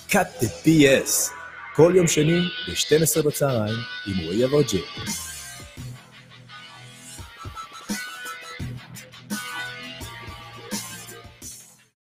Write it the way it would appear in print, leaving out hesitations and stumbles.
Cut the BS, כל יום שני ב-12 בצהריים עם רועי אברג'יל.